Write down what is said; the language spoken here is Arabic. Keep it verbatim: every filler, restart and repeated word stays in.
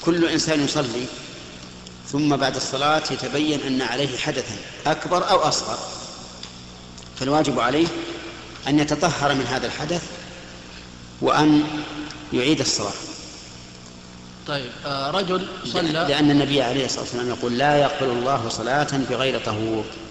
كل إنسان يصلي ثم بعد الصلاة يتبين أن عليه حدثا أكبر أو أصغر، فالواجب عليه أن يتطهر من هذا الحدث وأن يعيد الصلاة. طيب رجل صلى، لأن النبي عليه الصلاة والسلام يقول لا يقبل الله صلاة بغير طهور.